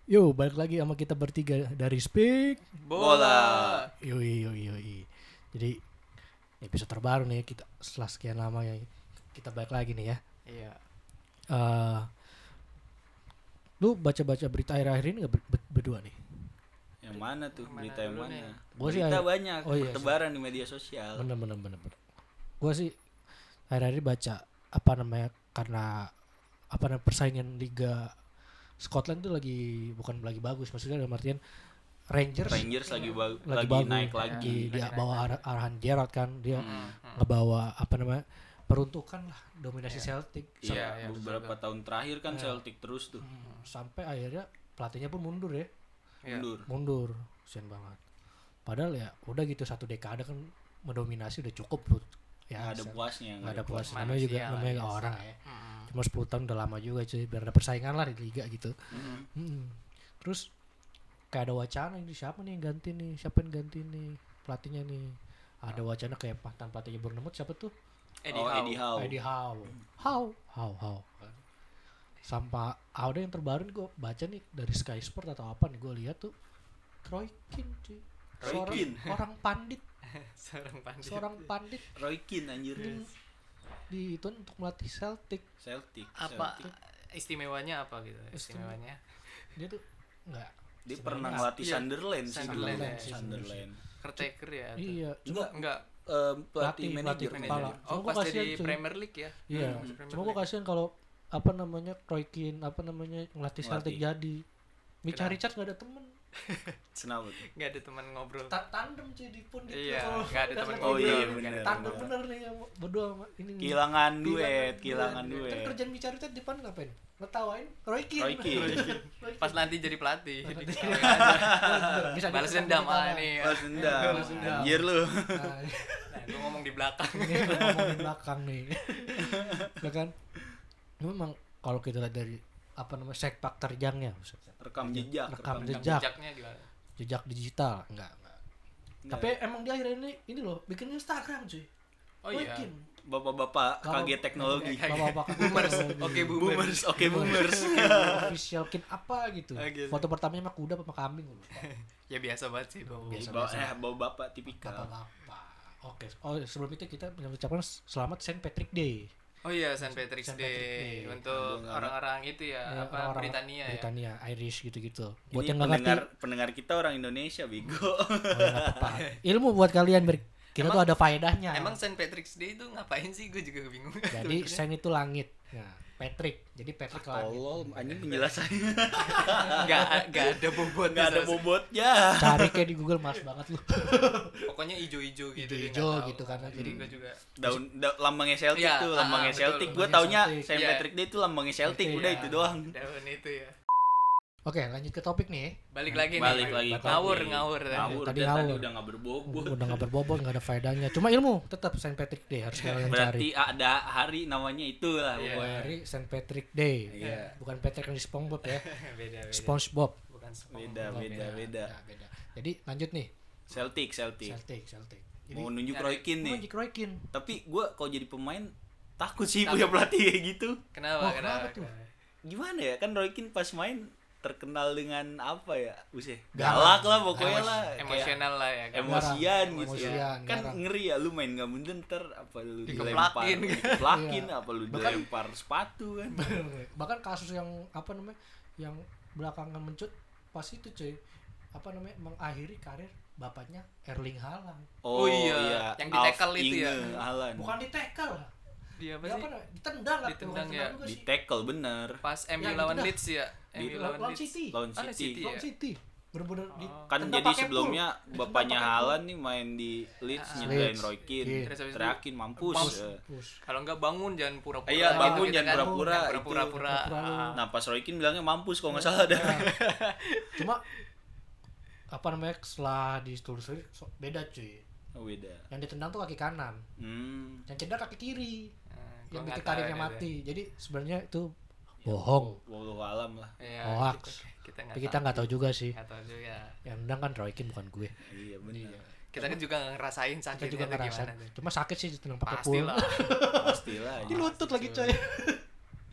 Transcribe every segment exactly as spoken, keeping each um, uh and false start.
Yo, balik lagi sama kita bertiga dari Speak Bola. Yoi, yoi, yoi. Jadi episode terbaru nih kita setelah sekian lama ya kita balik lagi nih ya. Iya. Uh, lu baca-baca berita akhir-akhir ini gak ber- ber- berdua nih? Yang mana tuh? Mana Berita yang dulu mana? nih? Gua sih Berita akhir- banyak, oh iya, bertebaran di media sosial. Bener bener bener bener. Gue sih akhir-akhir ini baca apa namanya karena apa namanya persaingan liga Scotland tuh lagi bukan lagi bagus, maksudnya dalam artian Rangers Rangers lagi ba- lagi, lagi, bagus, naik lagi lagi. dia Lagi bawa naik arah, arahan Gerrard kan dia Hmm. ngebawa apa namanya peruntukan lah dominasi Iya. Celtic Iya, Iya, iya, beberapa betul. tahun terakhir kan Iya. Celtic terus tuh Hmm, sampai akhirnya pelatihnya pun mundur ya Iya. mundur. mundur kasian banget padahal ya udah gitu satu dekade kan mendominasi udah cukup tuh ya Nggak ada se- puasnya, nggak ada puas puas. namanya juga Manusia lah, namanya biasa. orang ya Mm-mm. cuma sepuluh tahun udah lama juga cuy biar ada persaingan lah di liga gitu. Mhm. Hmm. Terus kayak ada wacana ini siapa nih yang ganti nih siapa yang ganti nih pelatihnya nih ada wacana kayak mantan pelatihnya Bournemouth siapa tuh Eddie Oh, Howe. Eddie Howe. Eddie Howe Howe Howe Howe sampai ada yang terbaru nih gue baca nih dari Sky Sport atau apa nih gue lihat tuh Roy Keane cuy Roy seorang Keane. orang pandit Seorang pandit. seorang pandit Roy Keane anjir. hmm, di itu untuk melatih Celtic Celtic. Apa Celtic. istimewanya apa gitu? Istimewanya. dia tuh nggak Dia pernah sebenarnya- ngelatih Iya. Sunderland sih dulu. Sunderland, ya. Sunderland. Caretaker ya. atau- iya Enggak, Enggak. eh, pelatih Pelatih- manajer. pelatih kepala. Manajer. Cuma Oh, gua pas kasihan, jadi cuy. Premier League ya. iya Hmm, cuma Premier gue League. kasihan kalau apa namanya Roy Keane apa namanya ngelatih Celtic Ngelatih. jadi Mitchell Kenapa? Richards nggak ada temen Kenapa tuh? Enggak ada teman ngobrol. Ta- tandem cuy di pun gitu Iya, kalau nggak ada teman lagi Oh ngobrol. iya ngobrol. benar. tandem benar. bener nih yang berdua sama ini nih. Kehilangan duet, Kehilangan kehilangan kan duet. kerjaan Mitchell Richards di depan ngapain ngetawain Roy Keane Roy Keane. Roy Keane. Pas nanti jadi pelatih. Pas Jadi nanti- ketawain aja. bisa Balas diketawain dendam ketawa. ah ini. ya. Balas dendam. Balas dendam. Anjir lu. Nah, Nah, gua ngomong di belakang. ini ngomong di belakang nih ya kan memang kalau kita lihat dari apa namanya sepak terjangnya Rekam jejak, Rekam jejak. jejak. Jejaknya gimana? jejak digital enggak, enggak. Enggak. Tapi emang dia akhirnya ini ini loh bikin Instagram cuy. Oh iya. Bikin. Bapak-bapak Kalau- kaget teknologi. Bapak-bapak Boomers. teknologi. Oke, boomers. Boomers, oke boomers. Official kid apa gitu. Ah, gitu. Foto pertamanya mah kuda apa kambing loh. Ya biasa banget sih dong. Biasa. Bawa, eh, bawa bapak tipikal. Bapak-bapak. Oke. Oh, sebelum itu kita mengucapkan selamat Saint Patrick Day. Oh iya, Saint Patrick's Saint Day, Patrick Day. untuk Aduh, orang-orang itu ya, Ya, apa orang-orang Britania, ya. Britania, Irish gitu-gitu. Buat Ini yang nggak ngerti, pendengar pendengar kita orang Indonesia, Bigo. oh, ya, nggak apa-apa. Ilmu buat kalian ber kita Emang- tuh ada faedahnya. Emang Saint Patrick's Day itu ngapain sih? Gue juga bingung. Jadi Saint itu langit. Nah, Patrick. Jadi Patrick langit. Tolol, anjing penjelasannya. Enggak enggak ada bobotnya. Enggak ada sama- bobotnya. Cari kayak di Google Mars banget lu. Pokoknya ijo-ijo gitu. dia Ijo-ijo nggak tahu. gitu kan. Jadi Jadi gue juga. Daun da- lambangnya Celtic Iya, tuh, ah, lambangnya betul. Celtic. Gue Lambangnya taunya Celtic. Saint Iya. Patrick Day itu lambangnya Celtic, Celtic, udah iya. itu doang. Daun itu ya. Oke, lanjut ke topik nih. Balik lagi Balik nih. lagi. Ngawur, Topik. ngawur. tadi. Ngawur, Tadi dia tadi ngawur. udah enggak berbobot. Udah nggak berbobot, nggak ada faedahnya. Cuma ilmu tetap Saint Patrick Day harus kalian Berarti cari. ada hari namanya itu lah Iya. pokoknya. Hari Saint Patrick Day. Iya. Bukan Patrick yang di SpongeBob ya. beda, beda. SpongeBob. Bukan SpongeBob. Beda, Oh, beda, beda. Ya, beda. Jadi lanjut nih. Celtic, Celtic. Celtic, Celtic. Jadi Mau nunjuk nyari- Roy Keane nih. Magic Roy Keane. Tapi gue kalau jadi pemain takut sih Takut. punya pelatih kayak gitu. Kenapa? Oh, kenapa kenapa? tuh? Gimana ya, kan Roy Keane pas main terkenal dengan apa ya, Usih Galak. galak lah pokoknya Emos- lah, kayak Emosional lah ya. kan? emosian Garang. gitu Emosian, ya. Kan garang. ngeri ya, lu main nggak bener ntar apa lu Dikeplakin. dilempar, dikeplakin Iya. apa lu Bahkan- dilempar sepatu kan. Bahkan kasus yang apa namanya yang belakangan mencut pas itu cuy apa namanya mengakhiri karir bapaknya Erling Haaland. Oh iya, yang di tackle itu ya. Haaland. Bukan di tackle lah. Dia apa Dia sih? apa namanya? Ditendang lah. Ditendang bukan ya. juga Di sih. tackle bener. Pas M U Ya, lawan gitu dah. Leeds ya. M U Di- lawan Lawan Leeds. City. Lawan Ah, City. City. Lawan Iya. City. Bener-bener di Oh. Kan tendang jadi pakai sebelumnya pull. bapaknya Ditendang pakai Haaland nih main di Leeds Ah. nyindarin Leeds. Roy Keane. Iya. Terus habis itu Teriakin mampus. mampus. Eh. pull. Kalau enggak bangun jangan pura-pura. Iya, gitu bangun gitu jangan kan. pura-pura, Jangan itu. Pura-pura. Pura-pura lu. Ah. Nah pas Roy Keane bilangnya mampus kalau nggak salah dah. Cuma apa namanya setelah ditelusuri so- beda cuy. Oh, beda. Yang ditendang tuh kaki kanan, Hmm. yang cedera kaki kiri. Nah, Yang gua bikin nggak tahu karirnya ini mati. Jadi sebenarnya itu bohong. Wallahu alam lah. deh. Iya, Hoax. kita- Kita Tapi kita nggak tahu juga sih. Nggak tahu juga. Yang nendang kan Roy Keane bukan gue. Iya benar. Kita kan juga ngerasain Kita sakitnya juga tuh ngerasain. gimana tuh. Cuma sakit sih ditendang pakai Pasti pull. lah. Pastilah. Di lutut lagi coy.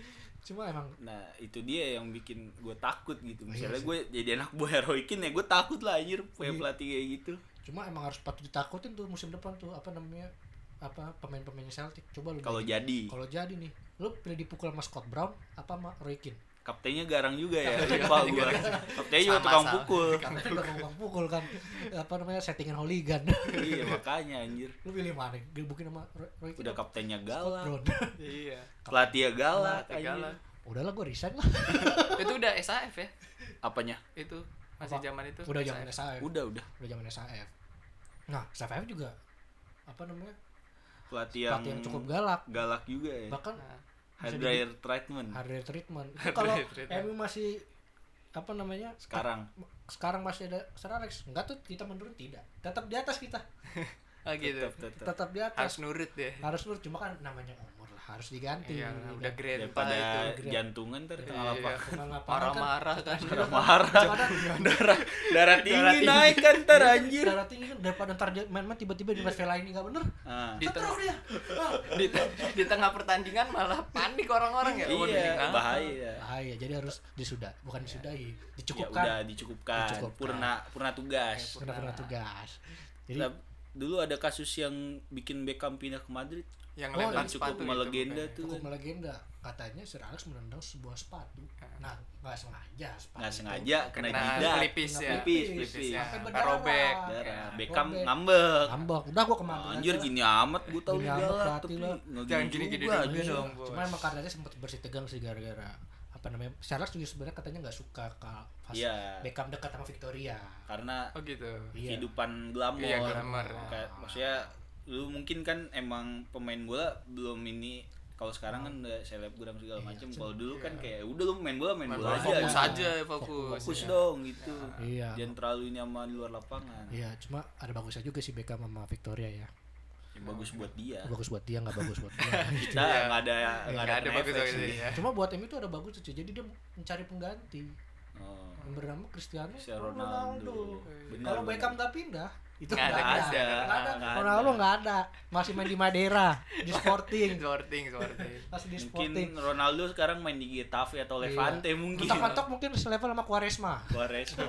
Cuma emang Nah itu dia yang bikin gue takut gitu. Misalnya Iya sih. gue jadi anak buah Roy Keane ya gue takut lah anjir punya Iya. pelatih kayak gitu. cuma emang harus patut ditakutin tuh musim depan tuh apa namanya apa pemain-pemain Celtic. Coba lu Kalau bayangin. jadi kalau jadi nih lu pilih dipukul sama Scott Brown apa sama Roy Keane. kaptennya garang juga ya. Lupa gue. Kaptennya juga Sama, tukang sama. pukul. Karena udah ngomong pukul kan apa namanya settingan hooligan. Iya makanya anjir. Lu pilih mana? Gebukin sama Roy Roy Keane. Udah apa kaptennya Scott galak. Brown. Iya. Pelatihnya galak Pelatih anjir. galak. Udahlah gue resign lah. Itu udah S A F ya? Apanya? Itu masih Apa? zaman itu. Udah S A F. zaman S A F. Udah udah. Udah zaman S A F. Nah, S A F juga apa namanya? Pelatih yang, Pelatih yang cukup galak. galak juga ya. Bahkan Nah, Hard bisa dryer treatment hard rate treatment. Itu Hard kalau rate treatment. M U masih apa namanya? sekarang. Sekarang masih ada Sir Alex. Enggak tuh kita menurun tidak. Tetap di atas kita. ah gitu. Tetap tetap. Tetap di atas. Harus nurut deh. Harus nurut cuma kan namanya umur lah, harus diganti. Iya, Kan. udah grandpa Daripada itu. jantungan ntar di tengah Iya. lapangan. Tengah lapangan kan, Marah-marah kan. Marah. darah darah tinggi naik kan ntar anjir. darah tinggi kan daripada ntar dia main-main tiba-tiba di Vela ini enggak bener. Ah. Di tengah, Ketrok dia. Ah. di, di tengah pertandingan malah panik orang-orang ya. Oh, Iya, kenapa? bahaya. Bahaya, jadi harus disudah, bukan disudahi, Ya dicukupkan. udah dicukupkan. Dicukupkan. Purna purna tugas. Kena kena tugas. Jadi Nah, dulu ada kasus yang bikin Beckham pindah ke Madrid. Yang Oh, lempar yang cukup sepatu itu melegenda bukannya. tuh. cukup melegenda. Katanya Sir Alex menendang sebuah sepatu. Nah, nggak sengaja sepatu. Nggak itu sengaja kena Kena jidat. pelipis ya. Pelipis, Pelipis, pelipis. ya. Sampai Sampai berdarah. robek. Darah. Ya. Beckham Robek. ngambek. Ngambek. Udah gua kemana Anjir gini amat gua tahu Gini lu amat galak berarti tapi lo. nggak Jangan gini gini-gini juga, dulu anjir. dong, Bos. Cuma emang katanya sempat bersih tegang sih gara-gara apa namanya? Sir Alex juga sebenarnya katanya nggak suka kalau pas Iya. Beckham dekat sama Victoria. Karena Oh gitu. Iya. kehidupan glamor. Iya, glamor. Kayak maksudnya lu mungkin kan emang pemain bola belum ini kalau sekarang kan udah selebgram segala Iya, macam. Kalau dulu kan kayak udah lu main bola main Main bola bola, aja. fokus gitu. aja, fokus. Fokus Iya. dong gitu. Iya. Jangan terlalu ini sama di luar lapangan. Iya, cuma ada bagusnya juga sih Beckham sama Victoria ya. Ya, bagus buat dia. Bagus buat dia, nggak bagus buat dia. Kita Iya. nggak ada nggak Nggak ada ada kena bagus efek bagus sih. ya. Cuma buat M U itu ada bagus tuh, jadi dia mencari pengganti. Oh. Yang bernama Cristiano Cristiano Ronaldo. Benar, Kalau benar. Beckham nggak pindah, itu Nggak nggak ada, ada. nggak ada. Nggak ada. Nggak Ronaldo ada. nggak ada. Masih main di Madeira, di Sporting. Sorting, sorting. Masih di Mungkin Sporting. Ronaldo sekarang main di Getafe atau Levante Iya. mungkin. Mentok-mentok mungkin selevel sama Quaresma. Quaresma.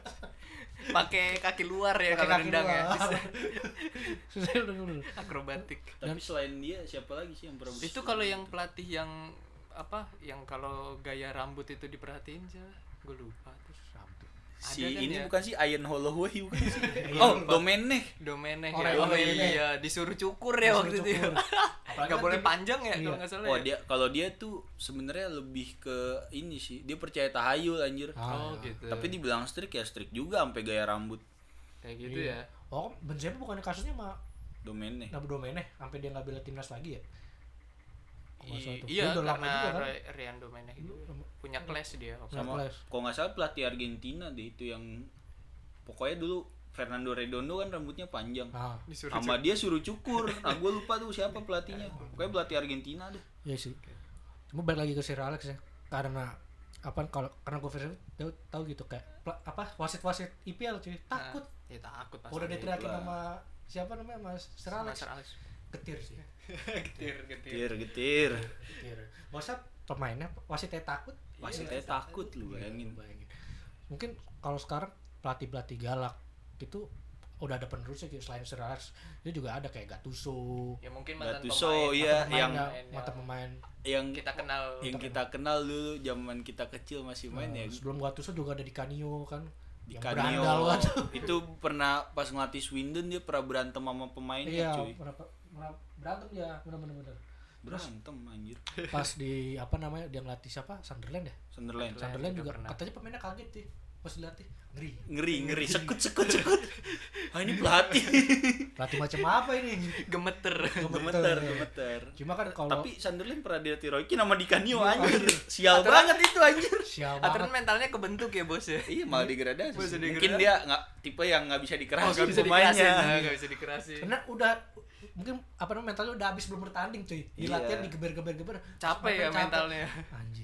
Pakai kaki luar ya Pakai kalau kaki nendang ya. luar. Susah dulu. Akrobatik. Tapi selain dia siapa lagi sih yang pernah Itu kalau yang pelatih yang apa? Yang kalau gaya rambut itu diperhatiin siapa? Gue lupa tuh. si Ada kan ini ya? bukan sih Ian Holloway bukan sih? Oh, Domenech. Domenech Oh, ya. Domenech. Oh iya, disuruh cukur ya Disuruh waktu itu. ya. cukur. Apalagi Nggak kan boleh dia- panjang ya Iya. kalau nggak salah. Oh ya? dia kalau dia tuh sebenarnya lebih ke ini sih dia percaya tahayul anjir. Ah, Oh gitu. Tapi dibilang strict ya strict juga sampai gaya rambut Kayak gitu iya. ya. Oh, Benzema bukannya kasusnya sama Domenech. Nabu Domenech sampai dia nggak bela timnas lagi ya? Kalau nggak salah I- tuh. iya Dia udah lama karena juga kan? Ri- Rian Domenech itu punya clash dia. waktu Punya Sama kelas. kalau nggak salah pelatih Argentina deh itu yang pokoknya dulu Fernando Redondo kan rambutnya panjang. Ah, Disuruh Sama dia suruh cukur. Nah, gue lupa tuh siapa pelatihnya. Pokoknya pelatih Argentina deh. iya sih. Cuma balik lagi ke Sir Alex ya. Karena apa kalau karena gue tahu, tahu gitu kayak pla- apa wasit-wasit I P L cuy takut. Ya takut pasti. Udah diteriakin lah. sama siapa namanya Mas Sir Sama Alex. Sir Alex. Getir sih. Getir, getir. Getir getir. Getir. Masa pemainnya wasitnya takut? Wasitnya takut lu bayangin. Bayangin. Mungkin kalau sekarang pelatih-pelatih galak itu udah ada penerusnya gitu. Selain Sir Alex dia juga ada kayak Gattuso. Ya mungkin mantan Gattuso, pemain. iya, Mantan yang- pemain, yang- mantan pemain. Yang kita kenal. yang kita kenal dulu zaman kita kecil masih main Nah, ya. sebelum Gattuso juga ada di Canio kan. Di yang Canio berandal kan. itu pernah pas ngelatih Swindon dia pernah berantem sama pemainnya Iya, cuy. pernah, pernah berantem ya, benar-benar benar. Terus Berantem anjir. pas di apa namanya dia ngelatih siapa? Sunderland ya? Sunderland. Sunderland juga juga, pernah. katanya pemainnya kaget sih pas dilatih. Ngeri. Ngeri ngeri sekut sekut sekut. Ah ini pelatih. Pelatih macam apa ini? Gemeter. Gemeter gemeter. Cuma kan kalau Tapi Sunderland pernah dilatih Roy Keane sama Di Canio Iya, anjir. anjir. Sial Aturan- banget itu anjir. sial Aturan banget. mentalnya kebentuk ya bos ya. Iya malah degradasi. Bisa Mungkin degradasi. dia nggak tipe yang nggak bisa Oh dikerasin nggak bisa pemainnya. dikerasin. Nggak bisa dikerasin. Karena udah mungkin apa namanya mentalnya udah habis belum bertanding cuy. Di Iya. latihan digeber-geber-geber. Capek ya Sampai mentalnya. Anjir.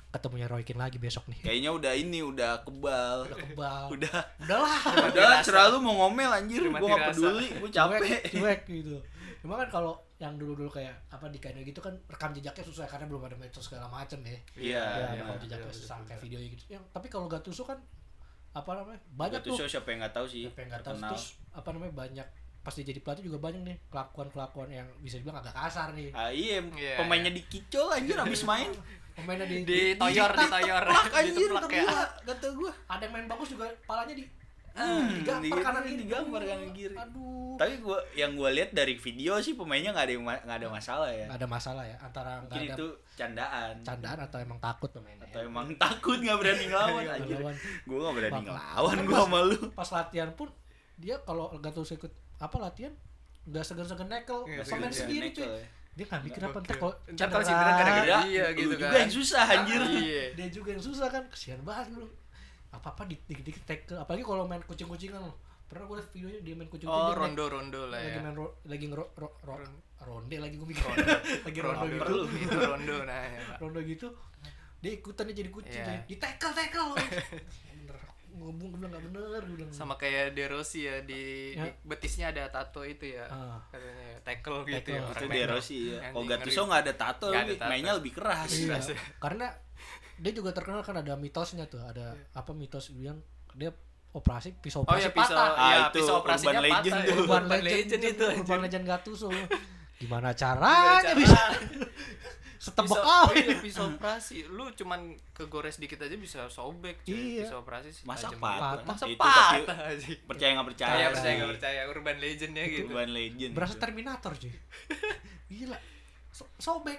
ketemunya Roy Keane lagi besok nih. Kayaknya udah ini udah kebal. Udah kebal. Udah. Udahlah. Udah selalu mau ngomel anjir, Udah mati gua enggak rasa. peduli, gua capek. Cuek, cuek gitu. Cuma kan kalau yang dulu-dulu kayak apa di Kano gitu kan rekam jejaknya susah karena belum ada medsos segala macem ya. Iya, Ya, iya. rekam jejaknya betul, susah betul, kayak video gitu. Yang tapi kalau Gattuso kan apa namanya? Banyak Gattuso tuh. siapa yang enggak tahu sih. Siapa yang nggak tahu terkenal. terus apa namanya banyak pas dia jadi pelatih juga banyak nih kelakuan-kelakuan yang bisa dibilang agak kasar nih. Ah iya, Iya, pemainnya dikicol anjir habis main. Pemainnya di, Di toyor, di toyor, Plak anjir diteplak kata ya. gua, kata gua. ada yang main bagus juga palanya di Hmm, digampar digampar, kanan kiri. digampar kanan kiri. Aduh. Tapi gua yang gua lihat dari video sih pemainnya nggak ada yang ma- nggak ada masalah ya. Nggak ada masalah ya antara nggak Mungkin ada itu candaan. candaan atau emang takut pemainnya. Atau emang takut nggak berani ngelawan Nggak anjir. lawan. Gua nggak berani Bang. ngelawan Kan gua pas- sama lu. Pas latihan pun dia kalau Gattuso ikut apa latihan nggak segan-segan nekel Nggak pemain segan-segan sendiri nekel cuy. ya. Dia nggak mikir apa Oke. ntar kalau Ntar kalau cedera gara-gara Ya, Iya, lu gitu juga kan. yang susah anjir. Iya. dia juga yang susah kan kesian banget lu apa-apa di- dikit-dikit tackle apalagi kalau main kucing-kucingan lu pernah gue liat videonya dia main Oh, kucing-kucingan rondo-rondo lah lagi ya. main ro- lagi ngero ro- ro- Ron- ronde lagi gue mikir lagi rondo Rondo gitu itu rondo nah ya, Pak. rondo gitu dia ikutannya jadi kucing Iya. jadi di tackle tackle bener ngomong gue bilang nggak bener gue bilang Sama kayak De Rossi ya di, Ya. di betisnya ada tato itu ya. Ah. Katanya tackle gitu Tackle. ya. Itu orang De main. Rossi ya. Yang Oh di- Gattuso ngeri. nggak ada tato, Nggak ada lebih- tato. mainnya lebih keras. iya Jelas ya. karena dia juga terkenal kan ada mitosnya tuh ada apa mitos bilang dia operasi pisau Oh operasi ya pisau, patah Ah, ya itu pisau operasinya Urban Legend patah tuh. ya. Urban Urban Legend, Legend itu Urban anjir. Legend Gattuso gimana Gimana caranya bisa caranya? setebak Pisau- kawin iya, pisau operasi lu cuman kegores dikit aja bisa sobek cuy. Iya. Pisau operasi sih Masa tajam patah? banget. Masa Itu tapi- patah sih. Percaya nggak percaya? Percaya percaya sih. nggak percaya Urban Legend ya gitu. Urban Legend. berasa Terminator cuy gila So- sobek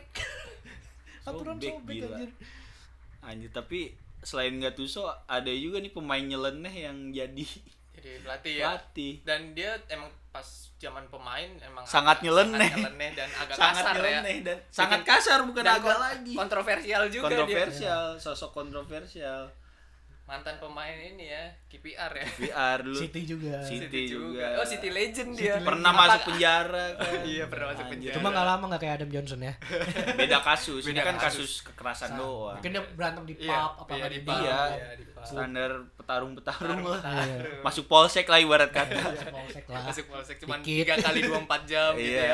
aturan Sobek, sobek gila. anjir Anjir, tapi selain Gattuso ada juga nih pemain nyeleneh yang jadi Jadi pelatih ya. pelatih. Dan dia emang pas zaman pemain emang Sangat agak- nyeleneh. sangat nyeleneh dan agak Sangat kasar nyeleneh ya. dan sangat kasar bukan Dan agak kon- lagi. kontroversial juga dia. Kontroversial, sosok kontroversial. Mantan pemain ini ya, K P R ya. V R lu. City juga City juga. Oh, City Legend dia. Pernah Apa- masuk penjara kan. Iya, pernah masuk Anjir. penjara. cuma nggak lama nggak kayak Adam Johnson ya Beda kasus. Ini Beda kan kasus. kasus kekerasan doang. mungkin dia berantem di pub Iya, apa iya, nggak di di pub. bar Iya. Iya, di pub. Standar petarung-petarung lah. Iya. Masuk polsek lah ibarat kata. Polsek lah Masuk polsek cuman Dikit. tiga kali dua puluh empat jam gitu Iya. ya.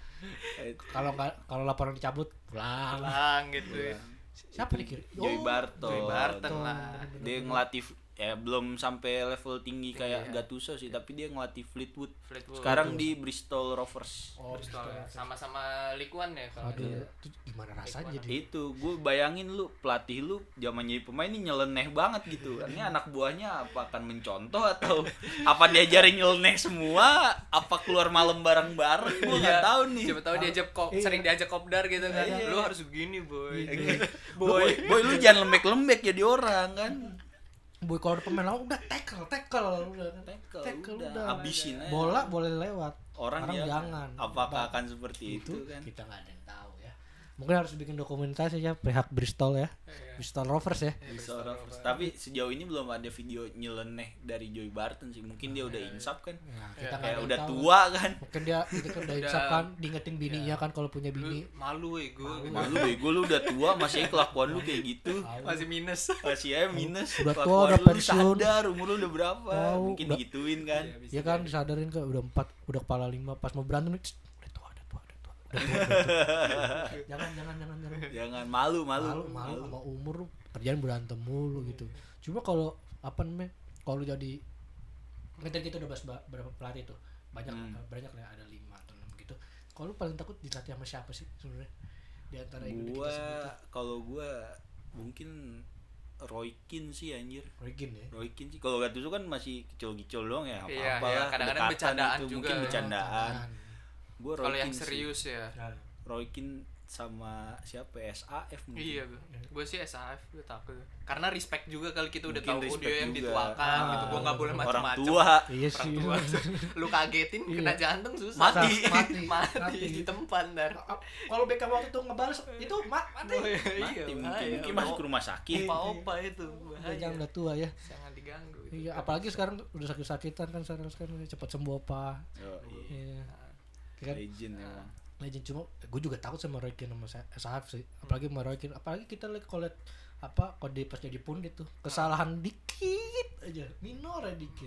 kalau nggak kalau laporan dicabut pulang Pulang gitu ya. siapa nih kiri Joey Barton. Joey Barton lah. Dia ngelatih ya belum sampai level tinggi kayak Iya. Gattuso sih, tapi dia ngelatih Fleetwood. Fleetwood. Sekarang di Bristol Rovers. oh Bristol Bristol. ya. Sama-sama Likuan ya kalau aduh dia. itu gimana rasanya jadi Itu gue bayangin lu pelatih lu zaman jadi pemain ini nyeleneh banget gitu. Ini anak buahnya apa akan mencontoh atau apa diajarin nyeleneh semua? Apa keluar malam bareng-bareng? Gue nggak Iya. tahu nih. Siapa tahu diajak kop, Iya. sering diajak kopdar gitu kan. Iya. Lu harus begini, boy. Iya. Boy, boy lu jangan lembek-lembek jadi orang kan. boy kalau ada pemain lawan udah tackle tackle udah Tackle, tackle udah, udah habisin aja. bola boleh lewat Orang Sekarang ya, jangan apakah Ba- akan seperti itu, kan? kita nggak ada yang tahu ya mungkin harus bikin dokumentasi ya pihak Bristol ya Iya. Bristol Rovers ya Bristol Rovers. Tapi sejauh ini belum ada video nyeleneh dari Joey Barton sih. Mungkin dia udah insaf kan. nah, kita Ya, nggak ada Kayak yang udah tahu. tua kan. mungkin dia itu kan udah Udah- insaf kan diingetin bininya kan kalau punya Lu bini malu ya gue. Malu bego lu udah tua masih kelakuan lu kayak gitu. Tahu. Masih minus. Masih aja minus. Udah tua, Kelakuan udah lu pensiun. sadar umur lu udah berapa. Tahu, Mungkin udah- digituin kan. Iya, bisa ya kan jadi. disadarin kan udah empat udah kepala lima pas mau berantem "Cst, udah tua udah tua udah tua udah tua, udah tua." jangan jangan jangan jangan Jangan malu malu. malu malu sama umur lu kerjaan berantem mulu gitu cuma kalau apa namanya kalau lu jadi ngejar kita udah bahas ba- berapa pelatih tuh banyak Hmm. banyak lah ada lima atau enam gitu kalau lu paling takut dilatih sama siapa sih sebenarnya di antara yang udah kita Gua sebutin kalau gua mungkin Roy Keane sih anjir. Regin ya Roy Keane sih kalau Gattuso kan masih kecil-kecil doang ya, Iya, apa-apa iya, lah, kadang-kadang kedekatan bercandaan itu, juga. mungkin bercandaan. Jangan. Gua Roy Kalau yang Keane sih. serius ya. Nah, Roy Keane sama siapa ya? S A F mungkin. Iya, gue sih S A F gue takut. Karena respect juga kalau kita udah Mungkin tahu respect dia yang juga. dituakan Ah, gitu. Gue nggak boleh Orang macam-macam. tua iya Orang sih tua. Lu kagetin Iya. kena jantung susah. Mati. mati Mati, mati di tempat dar. kalau Beckham waktu itu ngebales itu ma- mati Oh, iya, mati iya, mungkin, bahaya. mungkin masuk ke rumah sakit. Opa-opa itu udah bahaya. jangan udah tua ya Jangan diganggu. iya apalagi sekarang udah sakit-sakitan kan sekarang sekarang cepat sembuh apa Oh, iya. iya kan Legend emang. legend cuma gue juga takut sama Roy Keane sama S A F sih apalagi sama Roy Keane apalagi kita lihat kalau lihat apa kalau dia pas jadi pundit tuh kesalahan dikit aja, minor aja dikit.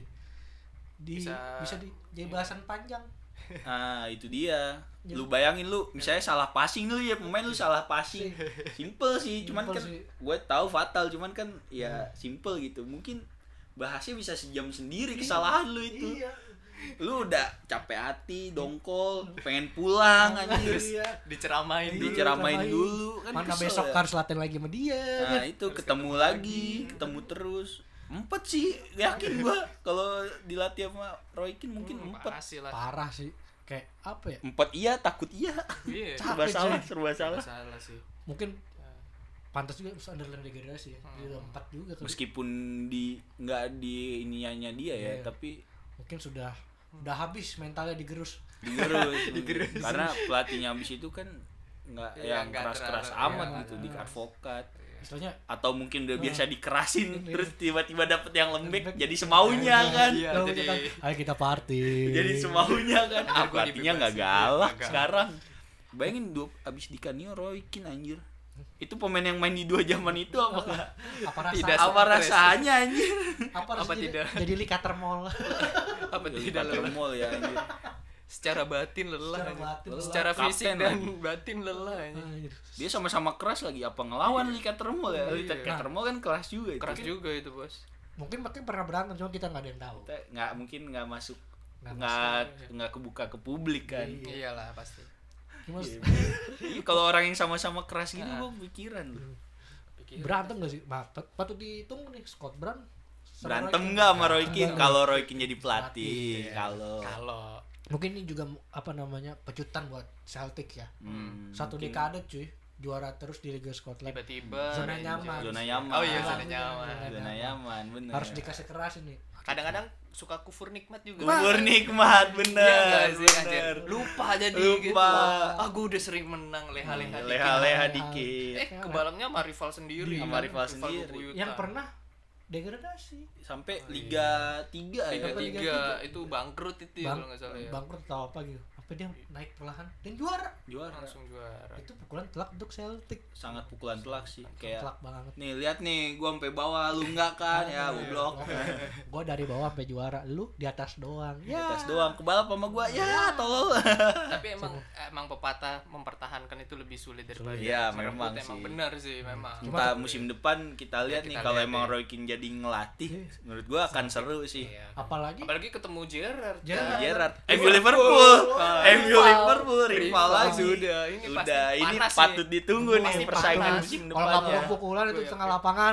Di bisa, Bisa- di jadi bahasan panjang. Nah itu dia. Ya. Lu bayangin lu misalnya salah passing lu ya pemain lu salah passing. Simple sih, cuman Simple kan sih. gue tahu fatal, cuman kan ya simple gitu. Mungkin bahasnya bisa sejam sendiri kesalahan lu itu. Iya. Lu udah capek hati, dongkol, pengen pulang anjir. Iya. Diceramain dulu. Diceramain Diceramain. dulu kan Mana kesel besok ya. harus latihan lagi sama dia. Nah kan? itu ketemu lagi, ketemu terus. Empat sih, yakin gua kalau dilatih sama Roy Keane mungkin Hmm, empat. pasti lah. Parah sih. Kayak apa ya? Empat iya, takut iya. Iya. Serba Capek, salah, coy. serba salah. Salah sih. Mungkin pantas juga Sunderland degradasi ya. Dia udah empat juga kali. Meskipun di nggak di iniannya dia ya, Iya. tapi Mungkin sudah udah habis mentalnya digerus. digerus. Karena pelatihnya habis itu kan nggak Iya, yang nggak keras-keras terlalu, amat iya. gitu di advokat. Istilahnya Atau mungkin udah biasa dikerasin Iya. terus tiba-tiba dapet yang lembek Lembek. jadi semaunya kan. Iya, kalau jadi- kita, ayo kita party. Jadi semaunya kan. Ntar Ah, gua pelatihnya nggak dibebasin. galak Nggak sekarang. Bayangin dua abis di Canio Roy Keane anjir. Itu pemain yang main di dua zaman itu apa nggak? apa rasa Tidak Apa stres. rasanya anjir? apa, apa rasanya tidak? jadi Lee Cutter Mall. Apa Jadi tidak lelah? mall ya anjir. Secara batin lelah. Secara anjir. batin lelah. Secara Kapten fisik dan lagi. batin lelah. anjir. Anjir. Dia sama-sama keras lagi apa ngelawan Lee Catermall ya? Lee Iya. Catermall kan keras juga itu. Keras juga itu, Bos. Mungkin mungkin pernah berantem cuma kita nggak ada yang tahu. Kita nggak mungkin nggak masuk Nggak nggak nggak kebuka ke publik kan. Iya. Iyalah pasti. Cuma Iya. Iya, kalau orang yang sama-sama keras gini Nah. gua pikiran lu. Pikir. berantem gak sih? Bah, pat- patut ditunggu nih Scott Brown. sama Berantem Roy Keane. nggak sama Roy Keane Enggak. kalau Roy Keane jadi pelatih? Pelatih. Kalau Kalau Mungkin ini juga apa namanya pecutan buat Celtic ya. Hmm, Satu mungkin dekade cuy juara terus di Liga Scotland. tiba-tiba Zona Rangers. nyaman. zona nyaman. Oh iya, Zona zona nyaman. Zona nyaman, bener. Harus dikasih keras ini. Kadang-kadang suka kufur nikmat juga. Kubur nikmat, bener. Iya nggak sih, anjir? bener. Lupa jadi Lupa. gitu. Ah, gue udah sering menang leha-leha dikit. Leha-leha dikit. dikit. Eh, kebalapnya sama rival sendiri. Sama kan? rival sendiri. bebuyutan. Yang pernah degradasi. Sampai Liga tiga Liga ya. Sampai Liga tiga tiga. itu bangkrut itu ya, Bang, kalau nggak salah ya. bangkrut atau apa gitu. Apa dia naik perlahan dan juara. Juara. Langsung juara. Itu pukulan telak untuk Celtic. Sangat pukulan telak sih. Kayak Telak banget. nih lihat nih gua sampai bawah lu enggak kan ya goblok. Gua dari bawah sampai juara, lu di atas doang. Di Ya. atas doang kebalap sama gua ya tolol. Tapi emang emang pepatah mempertahankan itu lebih sulit daripada Iya, merebut. memang Emang sih. benar sih memang. Entah musim depan kita lihat Ya, nih kita kalau lihat emang ya. Roy Keane jadi ngelatih menurut gua akan seru sih. Iya. Apalagi Apalagi ketemu Gerrard. Gerrard. kan? Gerrard, M U Liverpool, M U Liverpool rival lagi. Sudah, ini pasti Udah, ini panas patut nih. ditunggu nih Pasti persaingan panas. musim kalau nggak depannya. pukul-pukulan itu Gue tengah yakin. lapangan.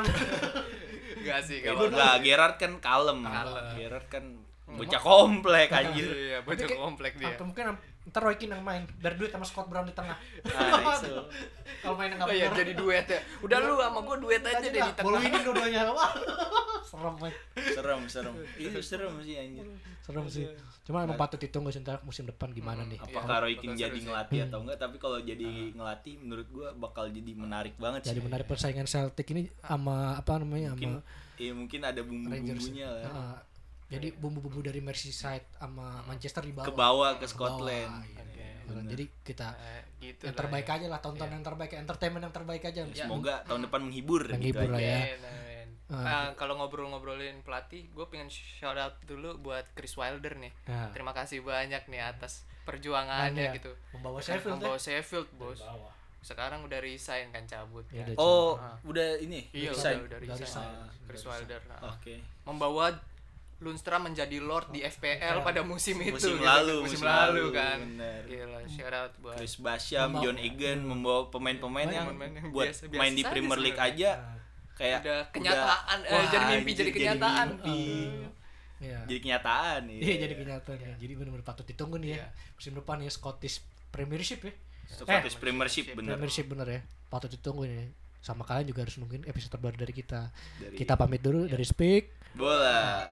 Enggak sih Ya, kalau enggak, Gerrard kan kalem. Kalem. Gerrard kan bocah komplek anjir. Iya, bocah Tapi kayak- komplek dia. Atau mungkin ntar Roy Keane yang main biar duit sama Scott Brown di tengah. Nah, itu. Kalau main nggak Oh iya, bener. jadi duet ya. Udah lu sama gua duet aja deh di Bolu tengah. ini dua-duanya. Wah, serem banget. Serem, serem. Itu serem sih anjir. Serem sih. Cuma emang patut ditunggu sih ntar musim depan gimana nih. Apakah Roy Keane bakal jadi seru sih. ngelatih atau enggak? Tapi kalau jadi ngelatih menurut gua bakal jadi menarik banget Jadi sih. menarik persaingan Celtic ini sama apa namanya Mungkin sama iya mungkin ada Rangers. bumbu-bumbunya lah. Heeh. Jadi bumbu-bumbu dari Merseyside sama Manchester di bawah. Ke bawah ke Ke Scotland. bawah, iya. Oke. Bener. Jadi kita Eh, gitu yang lah terbaik ya. aja lah, tonton yang terbaik, entertainment yang terbaik aja. Semoga tahun depan menghibur gitu Menghibur lah aja. ya. Amin, amin. Ah. Nah, kalau ngobrol-ngobrolin pelatih, gue pengen shout out dulu buat Chris Wilder nih. Nah. Terima kasih banyak nih atas perjuangannya Nah, gitu. Membawa Kan Sheffield membawa ya. Sheffield, bos. Bawah. Sekarang udah resign kan, cabut Ya, kan. udah Oh, Ah. udah ini. Iya, resign? udah, udah Udah resign. resign. Chris Udah Wilder. Nah. Oke. Membawa Lundstram menjadi Lord di F P L pada musim itu. Musim gitu. lalu, musim, musim lalu, lalu, kan. bener. Gila, shout out buat Chris Basham, Membawa- John Egan membawa pemain-pemain yang Pemain-pemain yang buat biasa- biasa main di saja Premier League sebenarnya. aja kayak udah kenyataan, eh, wah, jadi mimpi anjir, jadi kenyataan. mimpi. Iya. Jadi kenyataan Iya, jadi kenyataan ya. Jadi benar-benar patut ditunggu nih ya. Iya. Musim depan ya Scottish Premiership ya. Scottish Premiership bener. Premiership bener ya. Patut ditunggu nih. Sama kalian juga harus nungguin episode terbaru dari kita. Dari Kita pamit dulu dari Speak. bola.